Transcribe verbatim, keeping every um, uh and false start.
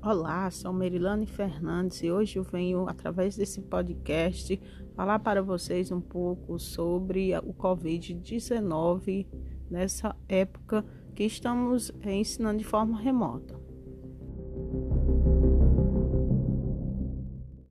Olá, sou Merilane Fernandes e hoje eu venho, através desse podcast, falar para vocês um pouco sobre o covid dezenove nessa época que estamos ensinando de forma remota.